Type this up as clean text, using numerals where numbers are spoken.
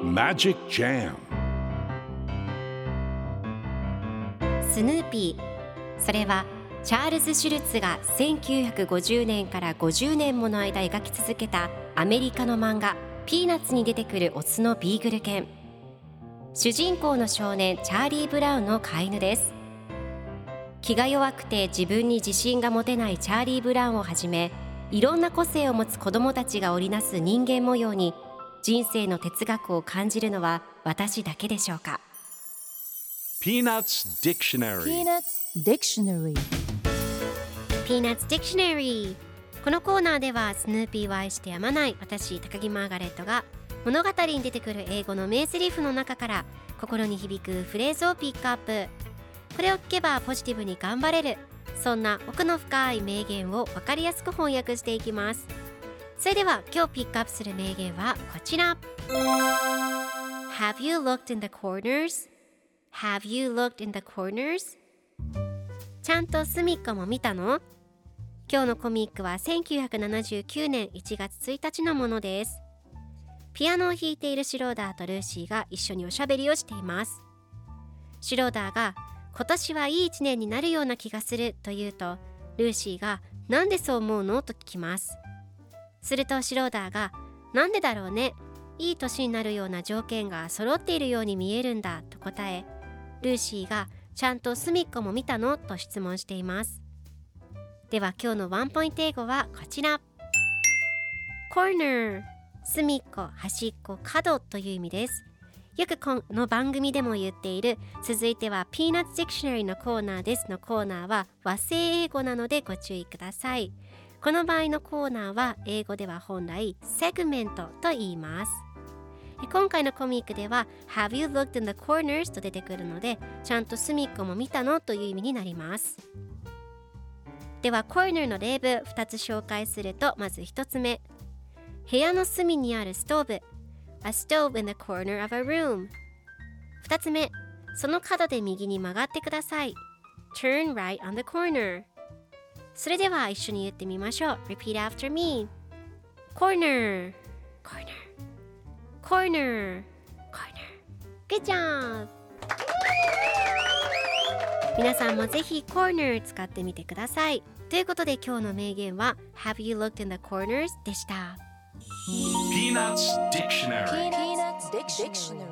Magic Jam スヌーピー、それはチャールズ・シュルツが1950年から50年もの間描き続けたアメリカの漫画ピーナッツに出てくるオスのビーグル犬。主人公の少年チャーリー・ブラウンの飼い犬です。気が弱くて自分に自信が持てないチャーリー・ブラウンをはじめ、いろんな個性を持つ子どもたちが織りなす人間模様に人生の哲学を感じるのは私だけでしょうか。 Peanuts Dictionary Peanuts Dictionary Peanuts Dictionary。 このコーナーではスヌーピーを愛してやまない私高木マーガレットが物語に出てくる英語の名台詞の中から心に響くフレーズをピックアップ。これを聞けばポジティブに頑張れる、そんな奥の深い名言を分かりやすく翻訳していきます。それでは今日ピックアップする名言はこちら。 Have you looked in the corners? Have you looked in the corners? ちゃんと隅っこも見たの？今日のコミックは1979年1月1日のものです。ピアノを弾いているシローダーとルーシーが一緒におしゃべりをしています。シローダーが今年はいい一年になるような気がすると言うと、ルーシーがなんでそう思うのと聞きます。するとシローダーがなんでだろうね、いい年になるような条件が揃っているように見えるんだと答え、ルーシーがちゃんと隅っこも見たのと質問しています。では今日のワンポイント英語はこちら。 Corner、 隅っこ、端っこ、角という意味です。よくこの番組でも言っている続いては Peanuts Dictionary のコーナーですのコーナーは和製英語なのでご注意ください。この場合のコーナーは英語では本来セグメントと言います。今回のコミックでは Have you looked in the corners と出てくるので、ちゃんと隅っこも見たのという意味になります。ではコーナーの例文2つ紹介すると、まず1つ目、部屋の隅にあるストーブ、 A stove in the corner of a room。 2つ目、その角で右に曲がってください、 Turn right on the corner。 それでは一緒に言ってみましょう。 Repeat after me。 Corner Corner Corner Corner。 Good job。 皆さんもぜひ Corner 使ってみてください。ということで今日の名言は Have you looked in the corners でした。 Peanuts Dictionary Peanuts Dictionary